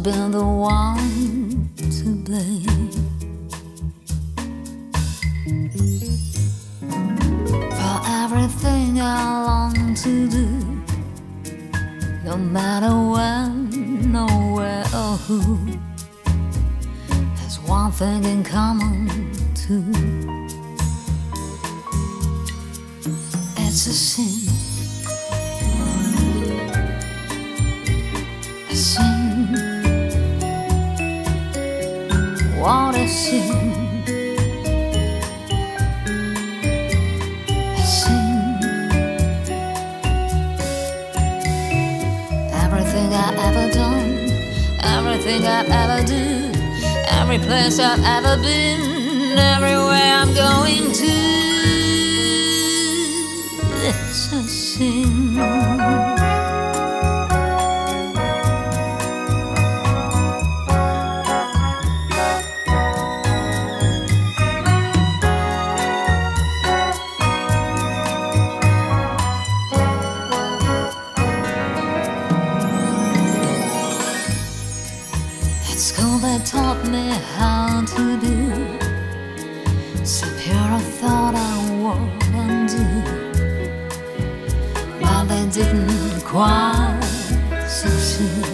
been the one to blame for everything I long to do, no matter when, nowhere, or who. Has one thing in common too. It's a sin. A sin. What a sin. A sin. Everything I've ever done, everything I've ever do, every place I've ever been, everywhere I'm going to, it's a sin. It's school that taught me how to do some pure thought I wouldn't do, but they didn't quite succeed.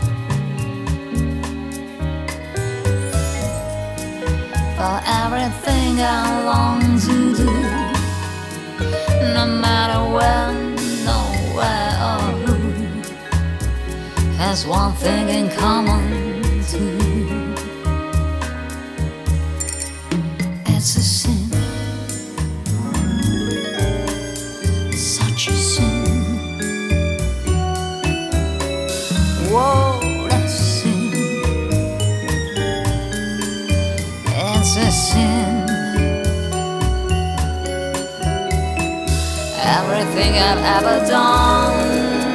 For everything I long to do, no matter when, nowhere, or who, has one thing in common. It's a sin, such a sin. Whoa, that's sin. It's a sin. Everything I've ever done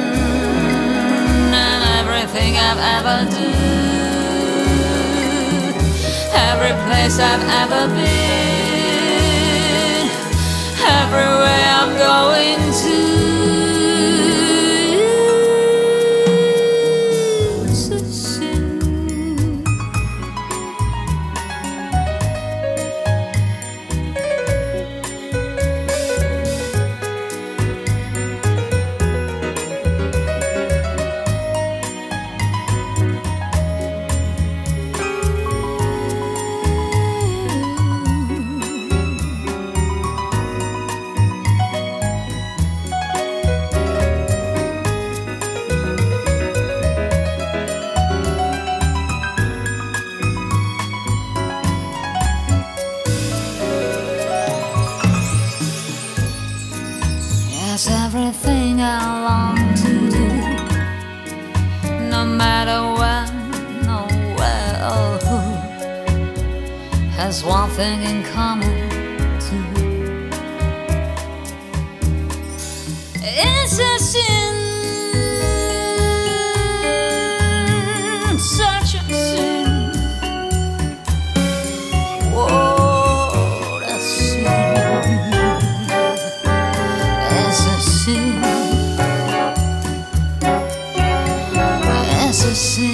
and everything I've ever do, every place I've ever been, everywhere I'm going to, it's a sin. It's everything I long to do, no matter when, nowhere, or who, has one thing in common too. It's a sin, such a sin. Whoa, that's sin. It's a sin.